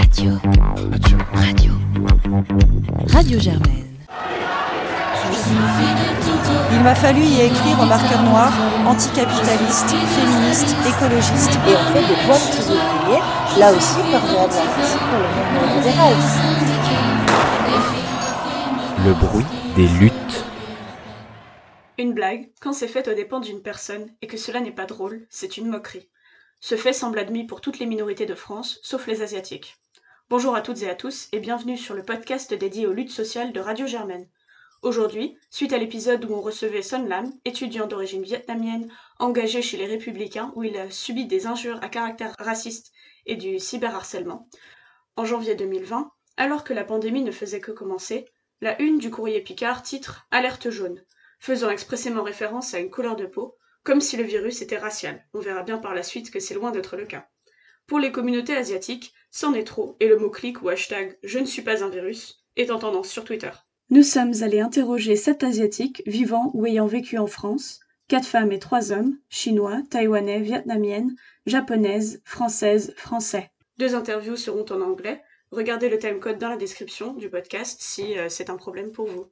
Radio. Radio Germaine. Il m'a fallu y écrire au marqueur noir, anticapitaliste, féministe, écologiste. Et on fait des points de petits ouvriers, là aussi perméable pour le mouvement libéral. Le bruit des luttes. Une blague, quand c'est fait aux dépens d'une personne et que cela n'est pas drôle, c'est une moquerie. Ce fait semble admis pour toutes les minorités de France, sauf les asiatiques. Bonjour à toutes et à tous et bienvenue sur le podcast dédié aux luttes sociales de Radio Germaine. Aujourd'hui, suite à l'épisode où on recevait Son Lam, étudiant d'origine vietnamienne, engagé chez les Républicains où il a subi des injures à caractère raciste et du cyberharcèlement, en janvier 2020, alors que la pandémie ne faisait que commencer, la une du Courrier Picard titre « Alerte jaune », faisant expressément référence à une couleur de peau, comme si le virus était racial. On verra bien par la suite que c'est loin d'être le cas. Pour les communautés asiatiques, c'en est trop, et le mot-clic ou hashtag « Je ne suis pas un virus » est en tendance sur Twitter. Nous sommes allés interroger 7 Asiatiques vivant ou ayant vécu en France, 4 femmes et 3 hommes, chinois, taïwanais, vietnamiennes, japonaises, françaises, français. 2 interviews seront en anglais. Regardez le timecode dans la description du podcast si c'est un problème pour vous.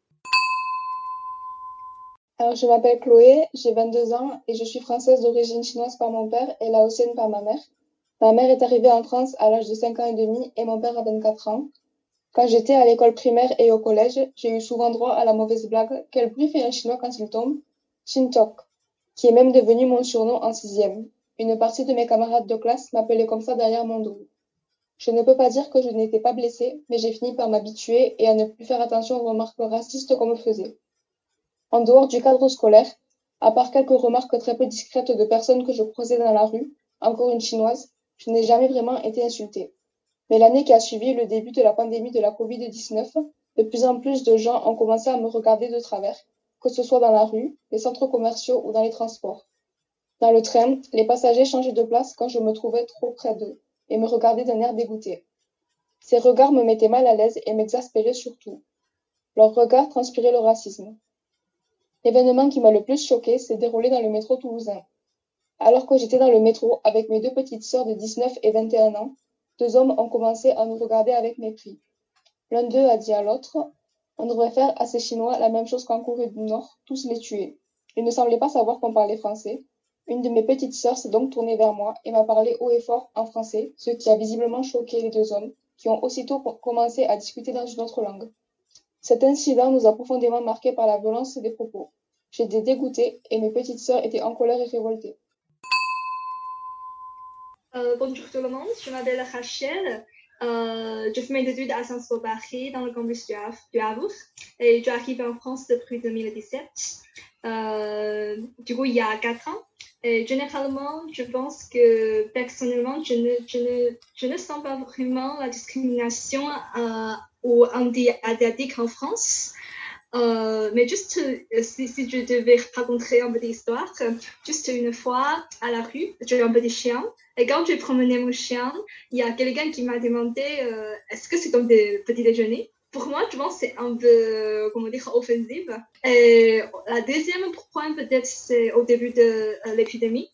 Alors, je m'appelle Chloé, j'ai 22 ans et je suis française d'origine chinoise par mon père et laotienne par ma mère. Ma mère est arrivée en France à l'âge de 5 ans et demi et mon père à 24 ans. Quand j'étais à l'école primaire et au collège, j'ai eu souvent droit à la mauvaise blague « Quel bruit fait un chinois quand il tombe ?» Shintok, qui est même devenu mon surnom en 6e. Une partie de mes camarades de classe m'appelait comme ça derrière mon dos. Je ne peux pas dire que je n'étais pas blessée, mais j'ai fini par m'habituer et à ne plus faire attention aux remarques racistes qu'on me faisait. En dehors du cadre scolaire, à part quelques remarques très peu discrètes de personnes que je croisais dans la rue, encore une chinoise, je n'ai jamais vraiment été insultée. Mais l'année qui a suivi le début de la pandémie de la Covid-19, de plus en plus de gens ont commencé à me regarder de travers, que ce soit dans la rue, les centres commerciaux ou dans les transports. Dans le train, les passagers changeaient de place quand je me trouvais trop près d'eux, et me regardaient d'un air dégoûté. Ces regards me mettaient mal à l'aise et m'exaspéraient surtout. Leurs regards transpiraient le racisme. L'événement qui m'a le plus choqué s'est déroulé dans le métro toulousain. Alors que j'étais dans le métro avec mes 2 petites sœurs de 19 et 21 ans, 2 hommes ont commencé à nous regarder avec mépris. L'un d'eux a dit à l'autre « On devrait faire à ces Chinois la même chose qu'en Corée du Nord, tous les tuer ». Ils ne semblaient pas savoir qu'on parlait français. Une de mes petites sœurs s'est donc tournée vers moi et m'a parlé haut et fort en français, ce qui a visiblement choqué les 2 hommes, qui ont aussitôt commencé à discuter dans une autre langue. Cet incident nous a profondément marqués par la violence des propos. J'étais dégoûtée et mes petites sœurs étaient en colère et révoltées. Bonjour tout le monde, je m'appelle Rachel. Je fais mes études à Sciences Po Paris dans le campus du Havre et je suis arrivée en France depuis 2017. Du coup, il y a 4 ans. Et généralement, je pense que personnellement, je ne sens pas vraiment la discrimination aux anti-asiatiques en France. Mais juste, si je devais raconter une petite histoire, juste une fois à la rue, j'ai un petit chien. Et quand j'ai promené mon chien, il y a quelqu'un qui m'a demandé est-ce que c'est comme des petits déjeuners? Pour moi, je pense que c'est un peu, offensif. Et la deuxième point, peut-être, c'est au début de l'épidémie.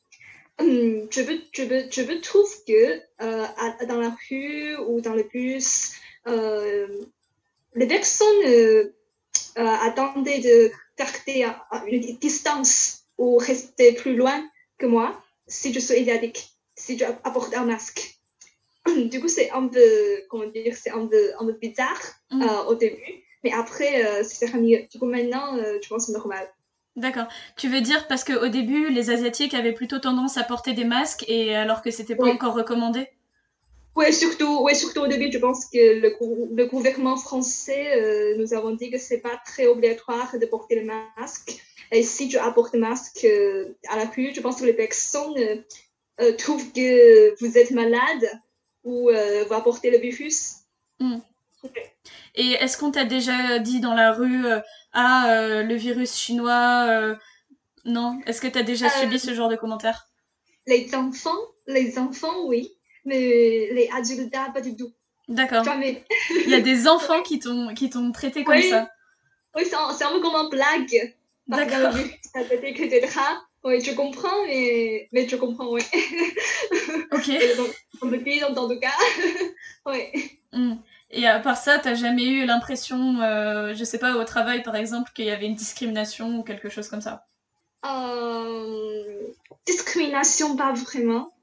Je trouve que dans la rue ou dans le bus, les personnes attendaient de garder une distance ou rester plus loin que moi si je suis asiatique, si je apporte un masque. Du coup, c'est un peu, c'est un peu bizarre au début, mais après, c'est mieux. Du coup, maintenant, je pense que c'est normal. D'accord. Tu veux dire parce qu'au début, les Asiatiques avaient plutôt tendance à porter des masques et alors que c'était pas encore recommandé? Oui, surtout au début, je pense que le gouvernement français nous avons dit que c'est pas très obligatoire de porter le masque. Et si tu apportes le masque à la rue, je pense que les personnes trouvent que vous êtes malade ou vous apportez le virus. Okay. Et est-ce qu'on t'a déjà dit dans la rue le virus chinois non? Est-ce que t'as déjà subi ce genre de commentaires? Les enfants, oui. Mais les adultes, pas du tout. D'accord. Jamais. Il y a des enfants qui t'ont traité comme ça. Oui, c'est un peu comme une blague. D'accord. Ça peut être que des draps. Oui, je comprends, mais je comprends, oui. Ok. Dans le pays, en tout cas. Ouais. Et à part ça, t'as jamais eu l'impression, je sais pas, au travail par exemple, qu'il y avait une discrimination ou quelque chose comme ça? Discrimination, pas vraiment.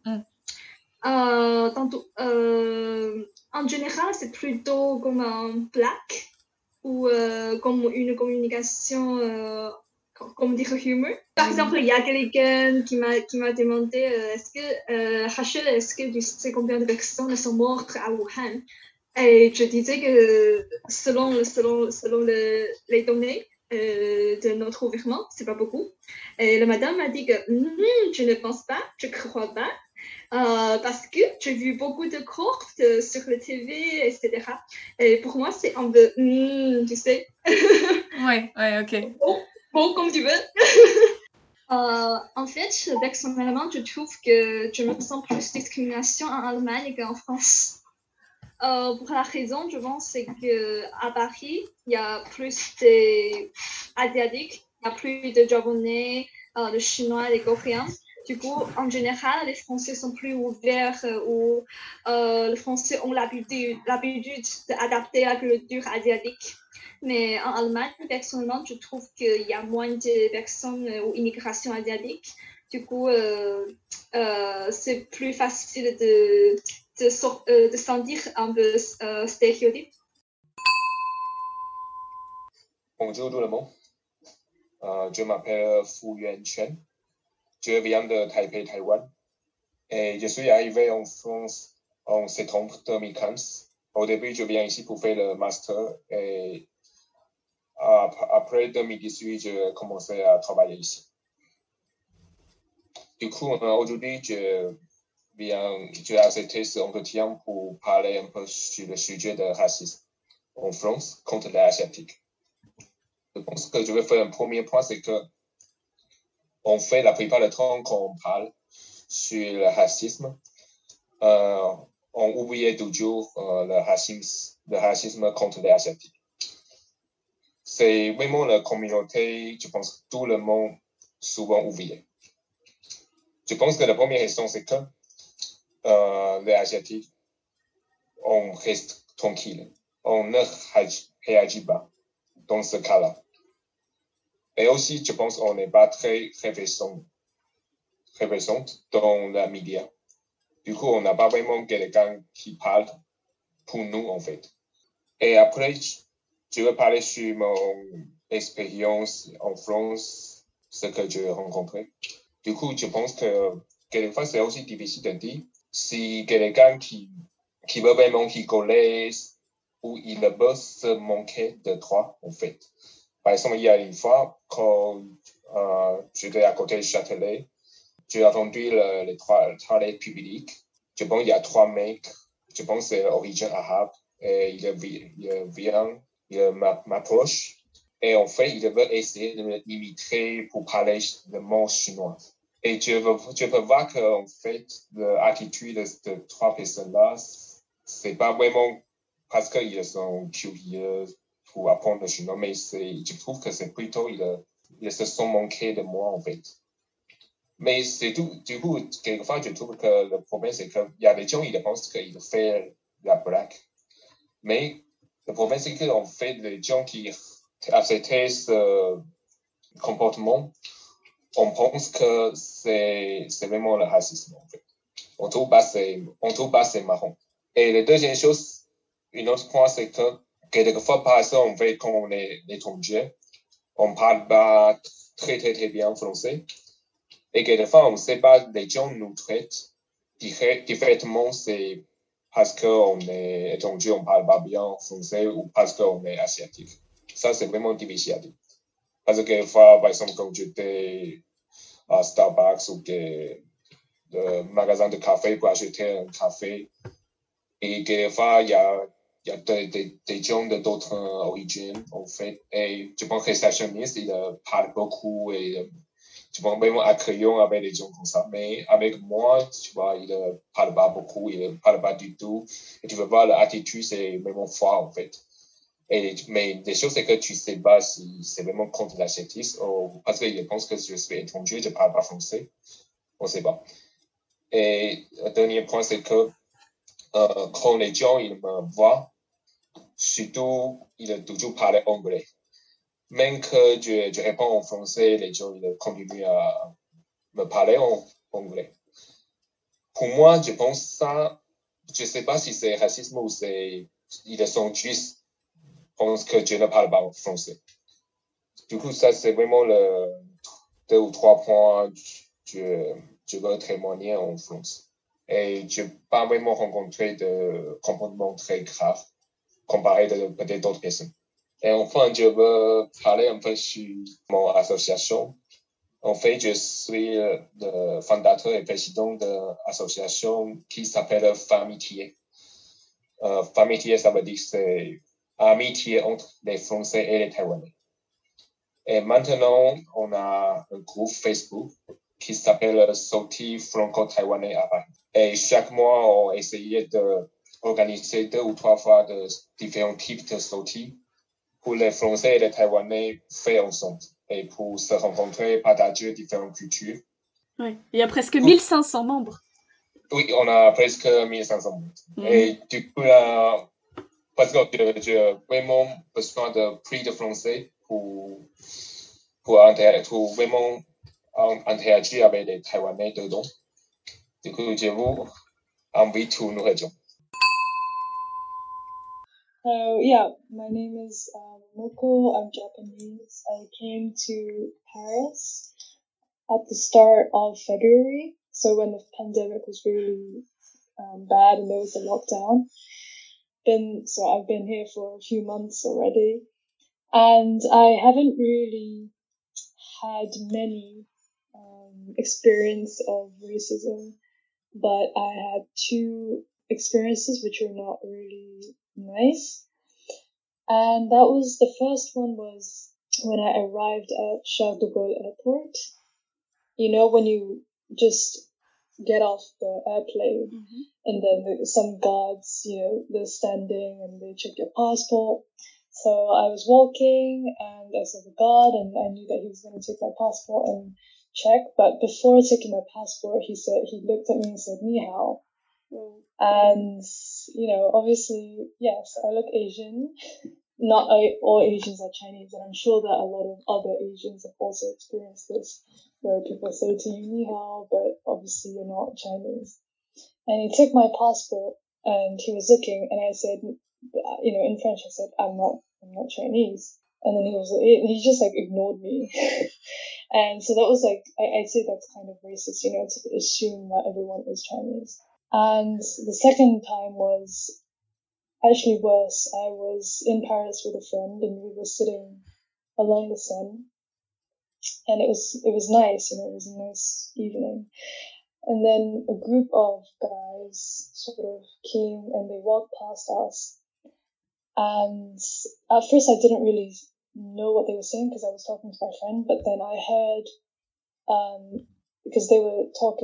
En général, c'est plutôt comme un blague ou comme une communication, comme dire humeur. Par exemple, il y a quelqu'un qui m'a demandé Rachel, est-ce que tu sais combien de personnes sont mortes à Wuhan? Et je disais que selon les données de notre gouvernement, c'est pas beaucoup. Et la madame m'a dit que je ne pense pas, je crois pas. Parce que j'ai vu beaucoup de courtes sur le TV, etc. Et pour moi, c'est un peu, tu sais. Ouais, ok. Bon, comme tu veux. En fait, personnellement, je trouve que je me sens plus discrimination en Allemagne qu'en France. Pour la raison, je pense, c'est qu'à Paris, il y a plus d'Asiatiques, il y a plus de Japonais, de Chinois, des Coréens. Du coup, en général, les Français sont plus ouverts ou les Français ont l'habitude d'adapter la culture asiatique. Mais en Allemagne, personnellement, je trouve qu'il y a moins de personnes ou immigration asiatique. Du coup, c'est plus facile de sentir un peu stéréotype. Bonjour tout le monde. Je m'appelle Fu Yuan-Chen. Je viens de Taipei, Taïwan. Et je suis arrivé en France en septembre 2015. Au début, je viens ici pour faire le master. Et après 2018, je commençais à travailler ici. Du coup, aujourd'hui, j'ai accepté cet entretien pour parler un peu sur le sujet de racisme en France contre les Asiatiques. Je pense que je vais faire un premier point, c'est que on fait la plupart du temps quand on parle sur le racisme, on oublie toujours le racisme contre les Asiatiques. C'est vraiment la communauté, je pense que tout le monde souvent oublié. Je pense que la première raison, c'est que les Asiatiques, on reste tranquille. On ne réagit pas dans ce cas-là. Et aussi, je pense qu'on n'est pas très représente dans les médias. Du coup, on n'a pas vraiment quelqu'un qui parle pour nous, en fait. Et après, je vais parler sur mon expérience en France, ce que j'ai rencontré. Du coup, je pense que quelquefois, c'est aussi difficile de dire si quelqu'un qui veut vraiment rigoler ou il veut se manquer de droit, en fait. Par exemple, il y a une fois, quand j'étais à côté du Châtelet, j'ai entendu les toilettes publiques. Je pense qu'il y a 3 mecs, je pense que c'est d'origine arabe, et il m'approche, et en fait, il veut essayer de m'imiter pour parler le mot chinois. Et je peux voir qu'en fait, l'attitude de ces 3 personnes-là, c'est pas vraiment parce qu'ils sont curieux pour apprendre le chinois, mais je trouve que c'est plutôt, ils se sont manqués de moi, en fait. Mais c'est tout. Du coup, quelquefois, je trouve que le problème, c'est qu'il y a des gens, ils pensent qu'ils font la blague. Mais le problème, c'est qu'en fait, les gens qui acceptent ce comportement, on pense que c'est vraiment le racisme, en fait. On trouve pas c'est marrant. Et la deuxième chose, une autre point, c'est que quelquefois, par exemple, en fait, quand on est étranger, on parle pas très, très, très bien français. Et quelquefois, on ne sait pas, les gens nous traitent directement, c'est parce qu'on est étranger, on ne parle pas bien français ou parce qu'on est asiatique. Ça, c'est vraiment difficile à dire. Parce que quelquefois, par exemple, quand j'étais à Starbucks ou le magasin de café pour acheter un café, et quelquefois, il y a des gens d'autres origines, en fait. Et je pense que les réceptionnistes, ils parlent beaucoup et tu vois, vraiment accueillant avec les gens comme ça. Mais avec moi, tu vois, il ne parle pas beaucoup, il ne parle pas du tout. Et tu veux voir l'attitude, c'est vraiment fort, en fait. Mais les choses, c'est que tu ne sais pas si c'est vraiment contre l'asiatisme ou parce qu'il pense que je suis étranger, je ne parle pas français. On ne sait pas. Et le dernier point, c'est que quand les gens ils me voient, surtout ils toujours parlent anglais. Même que je réponds en français, les gens ils continuent à me parler en anglais. Pour moi, je pense ça, je sais pas si c'est racisme ou ils sont juste pensent que je ne parle pas français. Du coup, ça c'est vraiment le 2 ou 3 points je veux témoigner en France. Et je n'ai pas vraiment rencontré de comportements très graves comparé de peut-être d'autres personnes. Et enfin, je veux parler un peu sur mon association. En fait, je suis le fondateur et président de l'association qui s'appelle Famitié. Famitié, ça veut dire que c'est amitié entre les Français et les Taïwanais. Et maintenant, on a un groupe Facebook qui s'appelle Sauti Franco-Taïwanais à Paris. Et chaque mois, on essayait d'organiser 2 ou 3 fois de différents types de sautis pour les Français et les Taïwanais faits ensemble et pour se rencontrer, partager différentes cultures. Oui, il y a presque 1500 membres. Oui, on a presque 1500 membres. Et du coup, parce que j'ai vraiment besoin de plus de Français pour vraiment interagir avec les Taïwanais dedans. Du coup, je vous invite à nous rejoindre. Yeah, my name is Moko. I'm Japanese. I came to Paris at the start of February, so when the pandemic was really bad and there was a lockdown. So I've been here for a few months already, and I haven't really had many experience of racism, but I had 2 experiences which were not really nice. And that was, the first one was when I arrived at Charles de Gaulle Airport. You know, when you just get off the airplane and then some guards, you know, they're standing and they check your passport. So I was walking and I saw the guard and I knew that he was going to take my passport and check. But before taking my passport, he looked at me and said, "Ni hao." And, you know, obviously, yes, I look Asian. Not all Asians are Chinese, and I'm sure that a lot of other Asians have also experienced this, where people say to you, "Ni hao," but obviously you're not Chinese. And he took my passport and he was looking, and I said, you know, in French, I said, I'm not Chinese. And then he just like ignored me. And so that was like, I'd say that's kind of racist, you know, to assume that everyone is Chinese. And the second time was actually worse. I was in Paris with a friend and we were sitting along the Seine, and it was nice, you know, it was a nice evening. And then a group of guys sort of came and they walked past us. And at first I didn't really know what they were saying because I was talking to my friend, but then I heard, because they were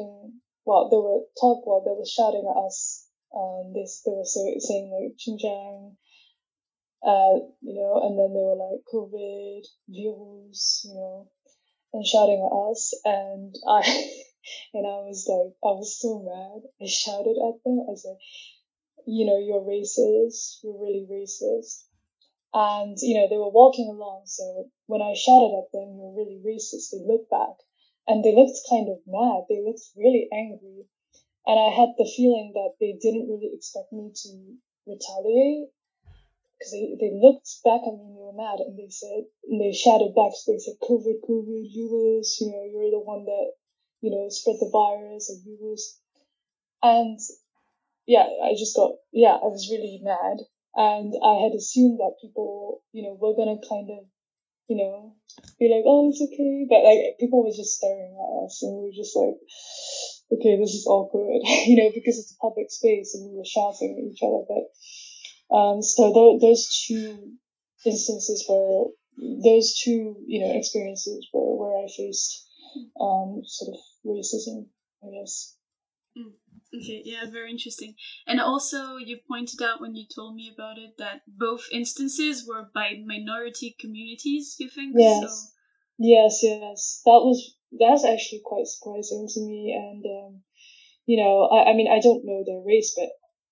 shouting at us. They were saying like "Xinjiang," you know, and then they were like "COVID, virus," you know, and shouting at us. And I was so mad. I shouted at them. I said, "You know, you're racist. You're really racist." And, you know, they were walking along. So when I shouted at them, "You're really racist," they looked back and they looked kind of mad. They looked really angry. And I had the feeling that they didn't really expect me to retaliate, because they looked back at me and they were mad, and they shouted back. So they said, "COVID, virus, you know, you're the one that, you know, spread the virus, or virus." And yeah, I was really mad. And I had assumed that people, you know, were going to kind of, you know, be like, "Oh, it's okay." But like, people were just staring at us and we were just like, okay, this is awkward, you know, because it's a public space and we were shouting at each other. But, so those 2 instances you know, experiences where I faced, sort of racism, I guess. Okay, yeah, very interesting. And also, you pointed out when you told me about it that both instances were by minority communities, you think? Yes. So... Yes. That's actually quite surprising to me. And, you know, I mean, I don't know their race, but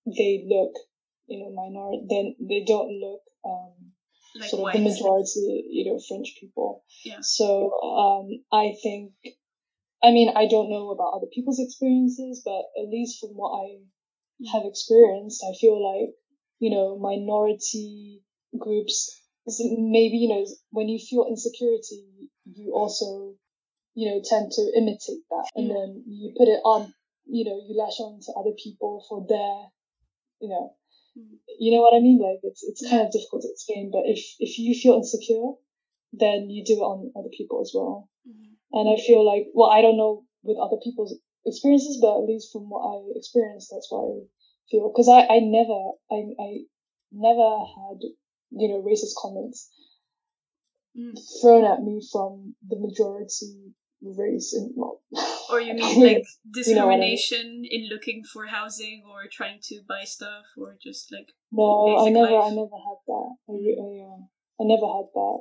they look, minority, then they don't look like sort of white. the majority, French people. Yeah. So I think, I don't know about other people's experiences, but at least from what I have experienced, I feel like, minority groups, maybe, when you feel insecurity, you also, tend to imitate that. And then you put it on, you lash on to other people for their, you know what I mean? Like, it's kind of difficult to explain, but if you feel insecure, then you do it on other people as well. And I feel like, well, I don't know with other people's experiences, but at least from what I experienced, that's what I feel. Because I never had, racist comments thrown at me from the majority race. Or you mean like discrimination in looking for housing or trying to buy stuff or just like No, I never had that. I never had that.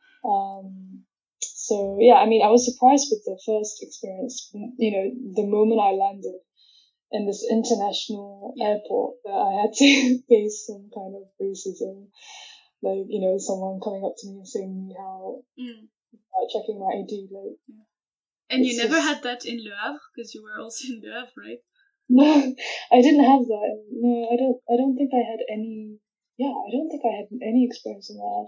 So yeah, I was surprised with the first experience. The moment I landed in this international airport, that I had to face some kind of racism. Like, someone coming up to me and saying ni hao, checking my ID. Like, and you never had that in Le Havre because you were also in Le Havre, right? No, I didn't have that. No, I don't think I had any. Yeah, I don't think I had any experience in that.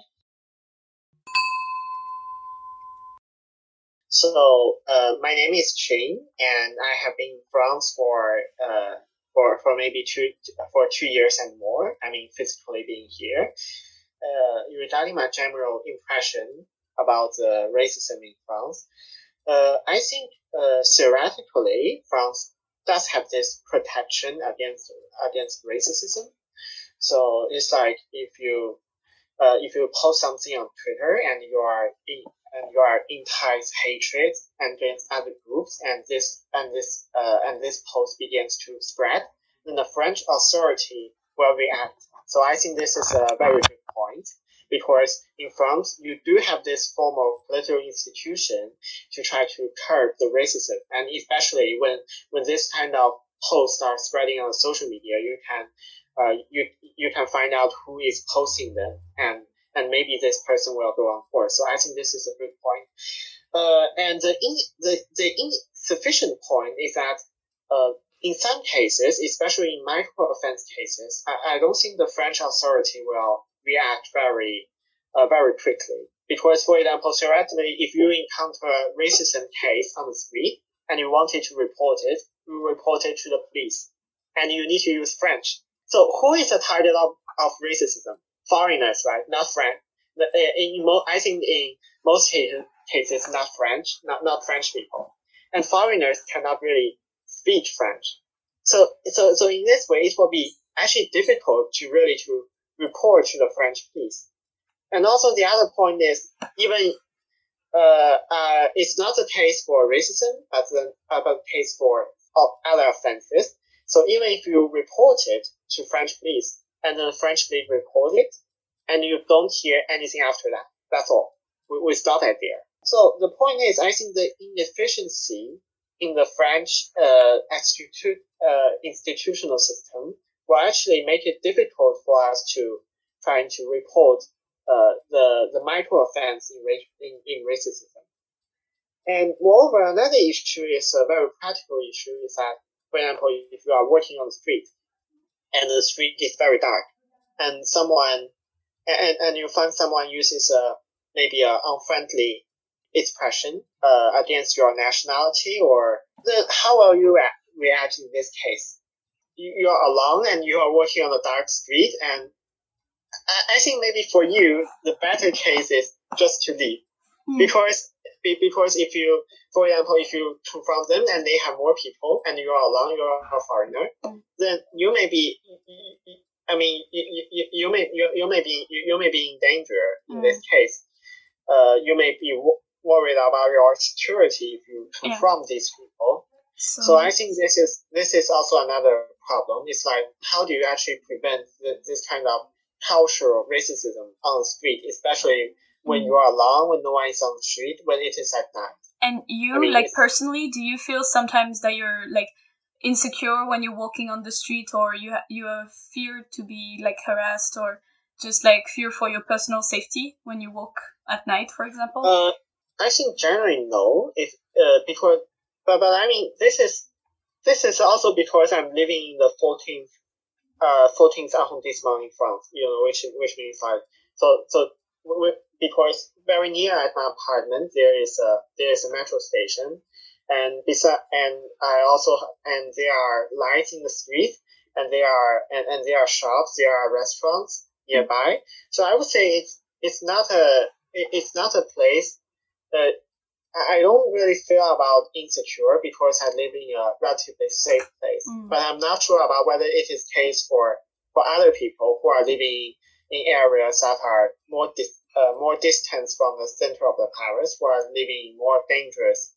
So, my name is Chin, and I have been in France for maybe 2 years and more. Physically being here. Regarding my general impression about racism in France, I think theoretically France does have this protection against racism. So it's like if you post something on Twitter and you are intense hatred against other groups, and this post begins to spread, then the French authority will react. So I think this is a very good point, because in France you do have this formal political institution to try to curb the racism, and especially when this kind of posts are spreading on social media, you can find out who is posting them, and maybe this person will go on board. So I think this is a good point. And the insufficient point is that in some cases, especially in micro offense cases, I don't think the French authority will react very quickly. Because, for example, theoretically, if you encounter a racism case on the street and you wanted to report it, you report it to the police, and you need to use French. So who is the target of racism? Foreigners, right? Not French. I think in most cases, not French, not French people, and foreigners cannot really speak French. So in this way, it will be actually difficult to report to the French police. And also the other point is, even it's not the case for racism, but the case for other offenses. So even if you report it to French police, and then the French police report it, and you don't hear anything after that, that's all. We stop it there. So the point is, I think the inefficiency in the French institutional system will actually make it difficult for us to try to report the micro offense in racism. And moreover, another issue is a very practical issue, is that, for example, if you are working on the street and the street is very dark, and you find someone uses maybe an unfriendly expression against your nationality, or then how will you react in this case? You are alone and you are working on a dark street, and I think maybe for you the better case is just to leave, because if you, for example, if you confront them and they have more people and you are alone, you are a foreigner, then you may be. You may be in danger in this case. You may be worried about your security if you confront these people. So I think this is also another problem. It's like, how do you actually prevent this kind of cultural racism on the street, especially when you are alone, when no one is on the street, when it is at night. And you, personally, do you feel sometimes that you're, insecure when you're walking on the street, or you have fear to be like harassed, or just like fear for your personal safety when you walk at night, for example? I think generally no. Because, but I mean, this is also because I'm living in the 14th arrondissement in France. Which means like because very near at my apartment there is a metro station, and there are lights in the street, and there are shops, there are restaurants nearby. So I would say it's not a place that I don't really feel about insecure, because I live in a relatively safe place. But I'm not sure about whether it is the case for other people who are living in areas that are more distant from the center of the Paris, who are living in more dangerous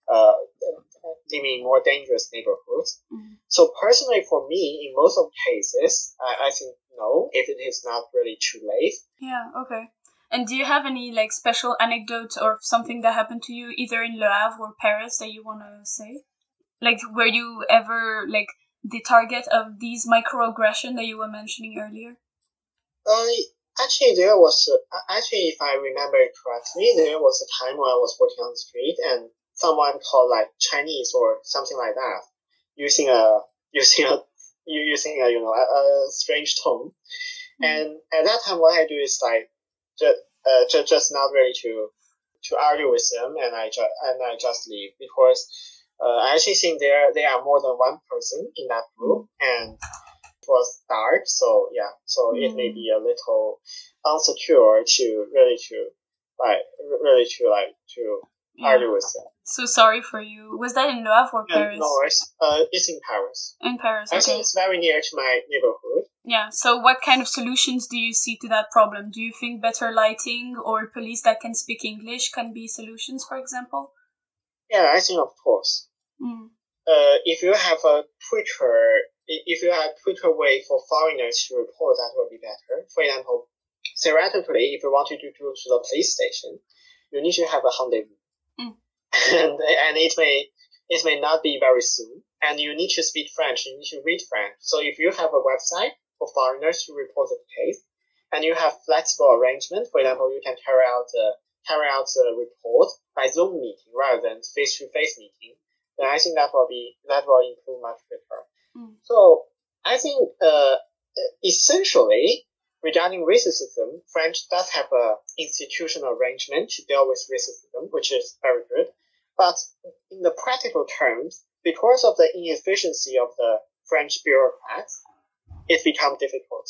neighborhoods. So personally, for me, in most of cases, I think no, if it is not really too late. Yeah. Okay. And do you have any like special anecdotes or something that happened to you either in Le Havre or Paris that you want to say? Like, were you ever like the target of these microaggressions that you were mentioning earlier? Actually, if I remember it correctly, there was a time when I was walking on the street and someone called like Chinese or something like that, using a strange tone. And at that time, what I do is like just not really to argue with them, and I just leave, because I actually think there are more than one person in that group, and it was dark, so it may be a little insecure to argue with them. So sorry for you. Was that in Le Havre or Paris? No worries. It's in Paris. In Paris, okay. I think it's very near to my neighborhood. Yeah, so what kind of solutions do you see to that problem? Do you think better lighting or police that can speak English can be solutions, for example? Yeah, I think of course. If you have a quicker way for foreigners to report, that would be better. For example, theoretically, if you want to go to the police station, you need to have a rendezvous. And it may not be very soon, and you need to speak French, you need to read French. So if you have a website for foreigners to report the case, and you have flexible arrangement, for example, you can carry out the report by Zoom meeting rather than face-to-face meeting, then I think that will improve much quicker. So I think essentially, regarding racism, French does have a institutional arrangement to deal with racism, which is very good. But in the practical terms, because of the inefficiency of the French bureaucrats, it becomes difficult.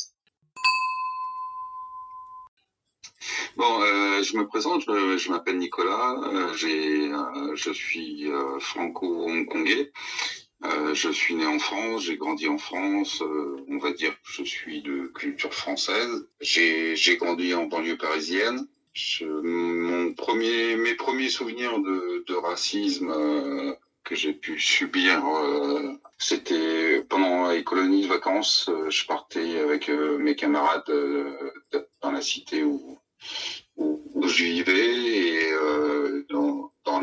Bon, je me présente, je m'appelle Nicolas, je suis franco-hongkongais. Je suis né en France, j'ai grandi en France, on va dire que je suis de culture française. J'ai grandi en banlieue parisienne. Mes premiers souvenirs de racisme que j'ai pu subir, c'était pendant les colonies de vacances. Je partais avec mes camarades dans la cité où je vivais, et dans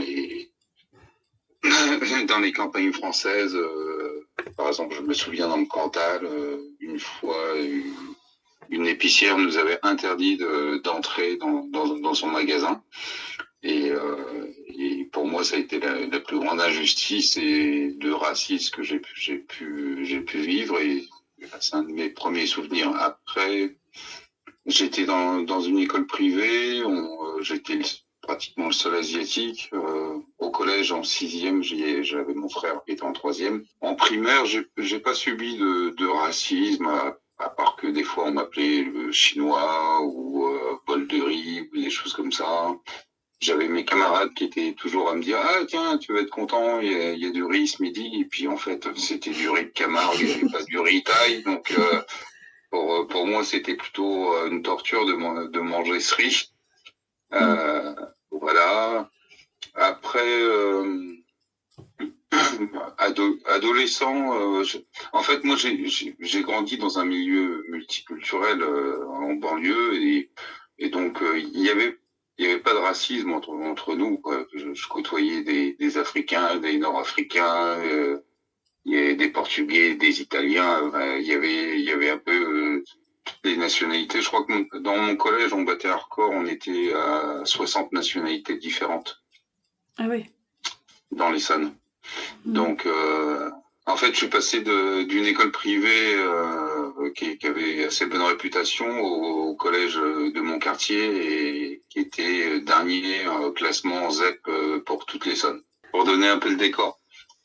les campagnes françaises, par exemple, je me souviens dans le Cantal, une fois, une épicière nous avait interdit d'entrer dans son magasin, et pour moi ça a été la plus grande injustice et de racisme que j'ai pu vivre, et c'est un de mes premiers souvenirs. Après, j'étais dans une école privée, j'étais pratiquement le seul asiatique. Au collège, en 6e, j'avais mon frère qui était en 3e. En primaire, j'ai pas subi de racisme, à part que des fois on m'appelait le chinois ou bol de riz ou des choses comme ça. J'avais mes camarades qui étaient toujours à me dire « Ah tiens, tu vas être content, il y a du riz ce midi ». Et puis en fait, c'était du riz de Camargue, il n'y avait pas du riz thaï. Donc pour moi, c'était plutôt une torture de manger ce riz. Voilà. Après, adolescent, en fait, moi, j'ai grandi dans un milieu multiculturel en banlieue, et donc il y avait pas de racisme entre nous, quoi. Je côtoyais des Africains, des Nord-Africains, il y avait des Portugais, des Italiens, il y avait un peu toutes les nationalités. Je crois que dans mon collège, on battait un record, on était à 60 nationalités différentes. Ah oui. Dans l'Essonne. Donc, en fait, je suis passé d'une école privée qui avait assez bonne réputation au collège de mon quartier et qui était dernier classement ZEP pour toute l'Essonne. Pour donner un peu le décor.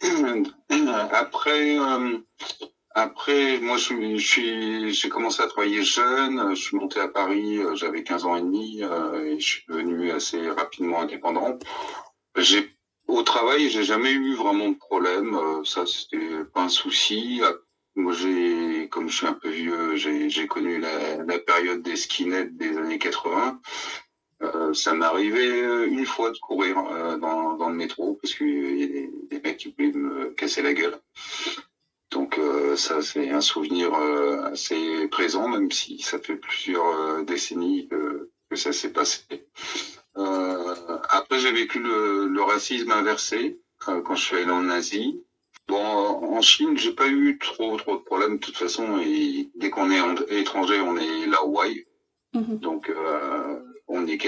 Après, moi, j'ai commencé à travailler jeune. Je suis monté à Paris, j'avais 15 ans et demi, et je suis devenu assez rapidement indépendant. Au travail, j'ai jamais eu vraiment de problème. Ça, c'était pas un souci. Moi, comme je suis un peu vieux, j'ai connu la période des skinheads des années 80. Ça m'est arrivé une fois de courir dans le métro parce qu'il y a des mecs qui voulaient me casser la gueule. Donc ça, c'est un souvenir assez présent, même si ça fait plusieurs décennies que ça s'est passé. Après, j'ai vécu le racisme inversé quand je suis allé en Asie. Bon, en Chine, j'ai pas eu trop de problèmes de toute façon. Et dès qu'on est étranger, on est Laowai. Donc, on est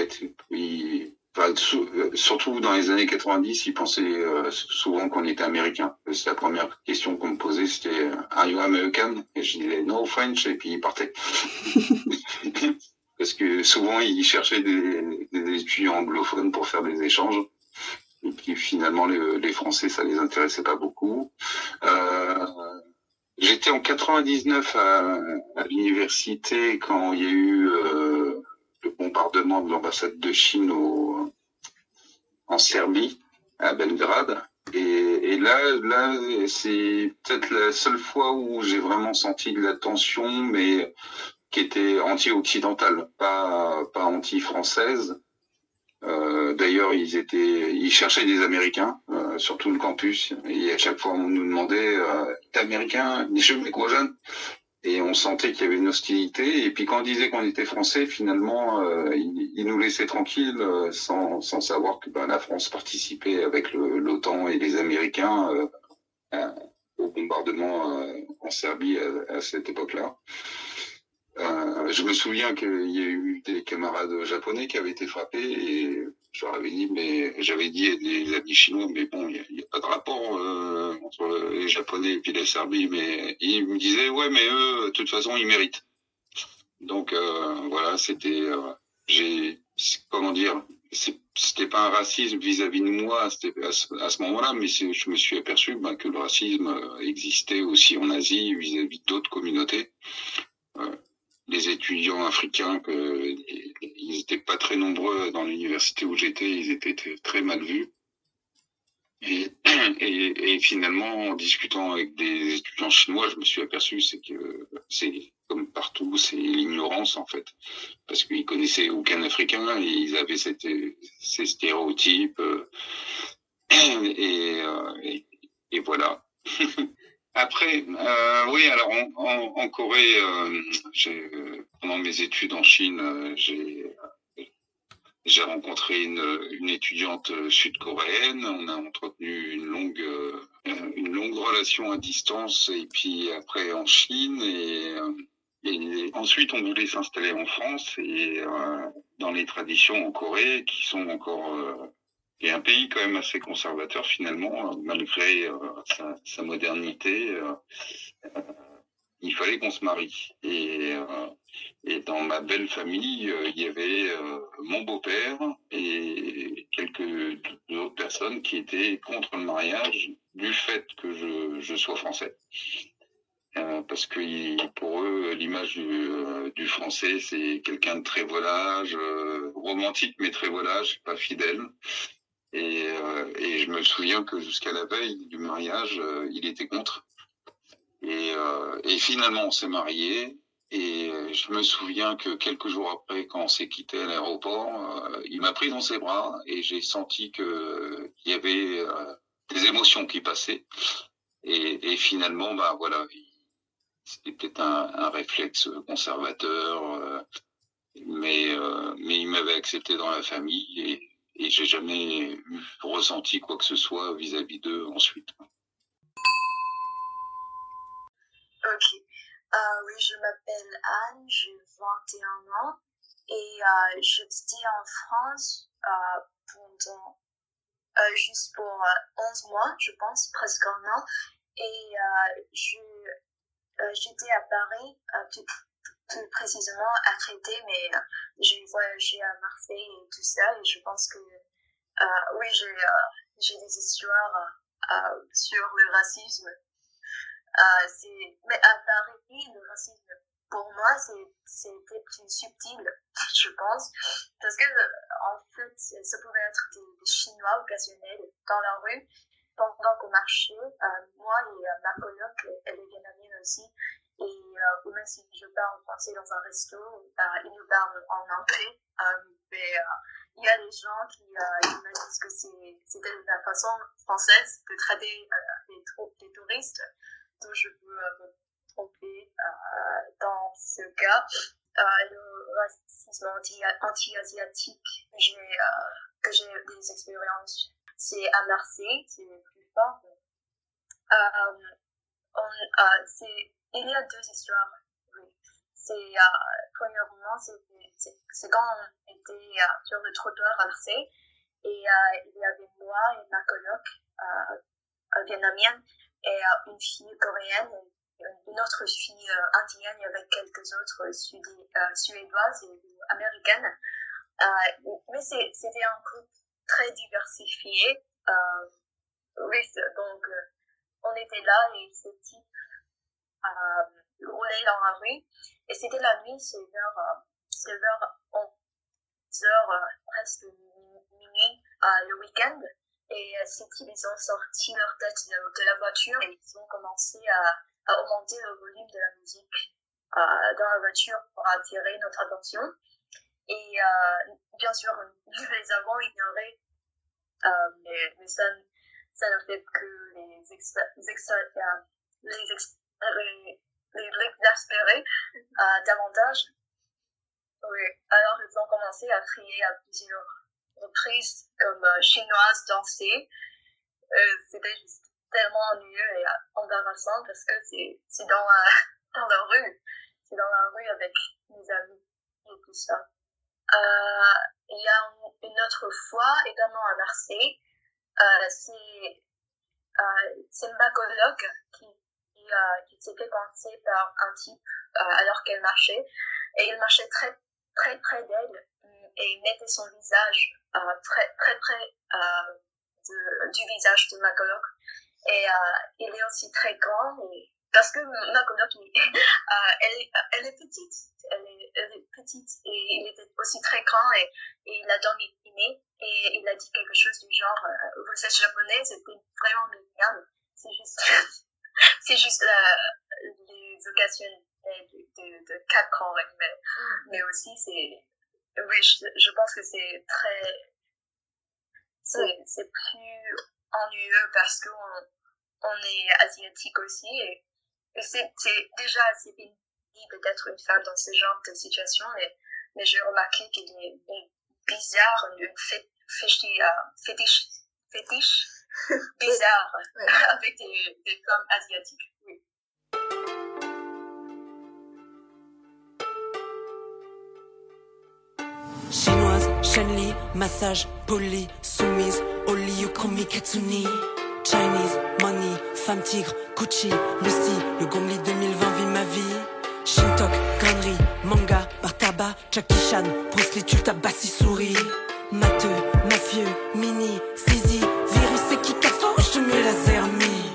surtout dans les années 90, ils pensaient souvent qu'on était américain. C'est la première question qu'on me posait, c'était Are you American? Et je disais No French, et puis ils partaient. Parce que souvent, ils cherchaient des étudiants anglophones pour faire des échanges. Et puis finalement, les Français, ça les intéressait pas beaucoup. J'étais en 99 à l'université quand il y a eu le bombardement de l'ambassade de Chine en Serbie, à Belgrade. Et là, c'est peut-être la seule fois où j'ai vraiment senti de la tension, mais qui était anti-occidentale, pas anti-française. D'ailleurs, ils cherchaient des Américains sur tout le campus, et à chaque fois on nous demandait t'es américain, je me quoi jeune, et on sentait qu'il y avait une hostilité. Et puis quand on disait qu'on était français, finalement, ils nous laissaient tranquilles sans savoir que la France participait avec l'OTAN et les Américains au bombardement en Serbie à cette époque-là. Je me souviens qu'il y a eu des camarades japonais qui avaient été frappés et je leur avais dit, j'avais dit à des amis chinois, mais bon, il n'y a pas de rapport entre les Japonais et puis la Serbie, mais ils me disaient, ouais, mais eux, de toute façon, ils méritent. Donc voilà, c'était, comment dire, c'était pas un racisme vis-à-vis de moi, c'était à ce moment-là, mais je me suis aperçu que le racisme existait aussi en Asie vis-à-vis d'autres communautés. Les étudiants africains, ils étaient pas très nombreux dans l'université où j'étais, ils étaient très mal vus. Et finalement, en discutant avec des étudiants chinois, je me suis aperçu, c'est que c'est comme partout, c'est l'ignorance en fait, parce qu'ils connaissaient aucun Africain et ils avaient ces stéréotypes et voilà. Après, oui, alors en Corée, pendant mes études en Chine, j'ai rencontré une étudiante sud-coréenne. On a entretenu une longue relation à distance, et puis après en Chine, et ensuite on voulait s'installer en France et dans les traditions en Corée qui sont encore et un pays quand même assez conservateur finalement, malgré sa modernité. Il fallait qu'on se marie. Et dans ma belle famille, il y avait mon beau-père et quelques autres personnes qui étaient contre le mariage du fait que je sois français. Parce que pour eux, l'image du français, c'est quelqu'un de très volage, romantique mais très volage, pas fidèle. Et je me souviens que jusqu'à la veille du mariage, il était contre. Et finalement, on s'est mariés. Et je me souviens que quelques jours après, quand on s'est quitté à l'aéroport, il m'a pris dans ses bras et j'ai senti qu'il y avait des émotions qui passaient. Et finalement, voilà, c'était peut-être un réflexe conservateur, mais il m'avait accepté dans la famille et j'ai jamais ressenti quoi que ce soit vis-à-vis d'eux ensuite. Ok. Oui, je m'appelle Anne, j'ai 21 ans et j'étais en France pendant juste pour 11 mois, je pense, presque un an. Et j'étais à Paris, plus précisément à Créteil, mais j'ai voyagé à Marseille et tout ça. Et je pense que oui, j'ai des histoires sur le racisme. Mais à Paris, le racisme, pour moi, c'était plus subtil, je pense, parce que, en fait, ça pouvait être des Chinois occasionnels dans la rue, pendant qu'on marchait, moi et ma coloc, elle est vietnamienne aussi, et même si je parle français dans un resto, ils nous parlent en anglais, mais il y a des gens qui me disent que c'était la façon française de traiter les touristes. Donc je peux me tromper dans ce cas. Le racisme anti-asiatique que j'ai des expériences, c'est à Marseille, c'est plus fort. Il y a deux histoires. Oui. Premièrement, c'est quand on était sur le trottoir à Marseille et il y avait moi et ma coloc vietnamienne et une fille coréenne et une autre fille indienne avec quelques autres suédoises et américaines. Mais c'était un groupe très diversifié. Oui, donc on était là et ce type roulait dans la rue et c'était la nuit, c'est vers 11h, presque minuit, le week-end. Et ces types, ils ont sorti leur tête de la voiture et ils ont commencé à augmenter le volume de la musique dans la voiture pour attirer notre attention. Et bien sûr, nous les avons ignorés, mais ça ne fait que les exaspérer davantage. Oui. Alors, ils ont commencé à crier à plusieurs reprises comme chinoise danser. C'était juste tellement ennuyeux et embarrassant parce que c'est dans la rue. C'est dans la rue avec mes amis et tout ça. Il y a une autre fois, également à Marseille, c'est ma coloc qui s'est fait coincer par un type alors qu'elle marchait. Et il marchait très, très près d'elle et il mettait son visage très, très près du visage de ma coloc. Et il est aussi très grand parce que ma coloc, elle est petite. Elle est petite et il était aussi très grand et il a dominé et il a dit quelque chose du genre vous êtes japonais, c'était vraiment mignon. C'est juste les occasions de 4 ans, mais aussi oui, je pense que c'est plus ennuyeux parce qu'on est asiatique aussi et c'est déjà assez pénible d'être une femme dans ce genre de situation, mais j'ai remarqué qu'il est bizarre, une fétiche bizarre avec des femmes asiatiques. Oui. Chinoise, Shenli, massage, poli, soumise, Oli, Yukomi, Katsuni. Chinese, money, femme tigre, Gucci, Lucy, le Gomli 2020 vit ma vie. Shintok, connerie, manga, bar tabac, Jackie Chan, Bruce Lee, tu tabassi souris. Matheux, mafieux, mini, Zizi, virus et qui casse ton rouge de mieux laser mi.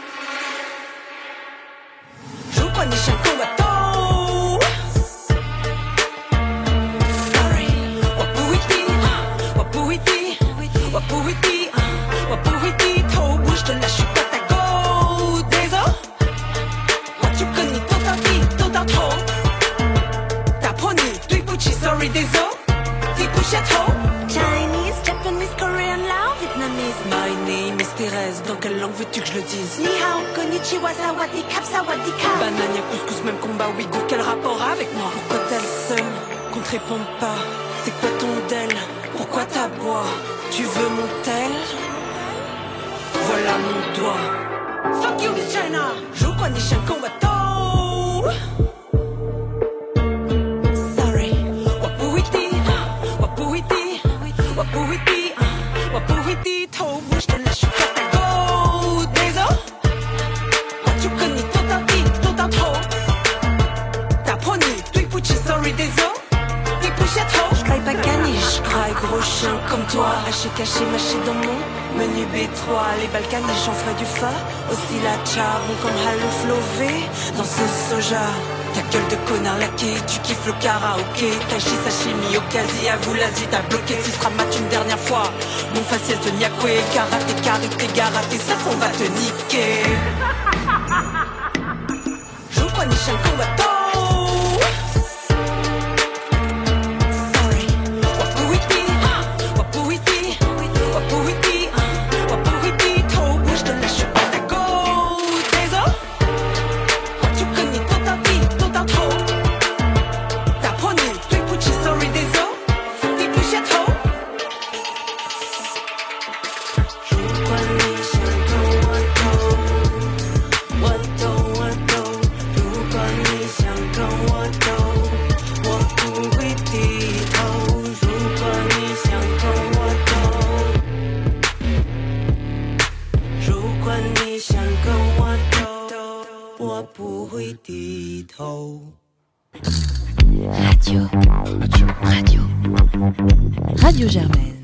Je crois ni chien combattant. Wapuiti, trop bouge de la chute à ta go. Désolé, moi tu connais tout un trop. T'as pony, tu puchi, sorry, désolé. Tu push à trop. Chinese, Japanese, Korean, Lao, Vietnamese. My name is Thérèse, dans quelle langue veux-tu que je le dise? Ni hao, konnichiwa, sawadikap, sawadikap. Banania, couscous, même combat, ouïghour, quel rapport avec moi? Pourquoi t'es le seul qu'on te réponde pas? C'est quoi ton del? Pourquoi t'aboies? Tu veux mon tel? Voilà mon doigt. Fuck you, Miss China. Je crois ni chien combattant. Sorry. What不会的，我不会的，我不会的，我不会低头。我是来说话的狗，对着，我就跟你斗到底，斗到头，打破你，对不起 ，sorry， désolé。Je crois pas gagner, je crois gros chien comme toi. Haché, caché, mâché dans mon menu B3. Les Balkans, j'en ferai du fa. Aussi la charbon comme Halo Flové. Dans ce soja, ta gueule de connard laqué. Tu kiffes le karaoké. Taichi, sashimi, okasi, avoue l'Asie. T'as bloqué, si sera mat une dernière fois. Mon faciès de Nyakwe. Karaté, karité, garaté. Ça, on va te niquer. Joue quoi, Nishan Kombato. Radio Germaine.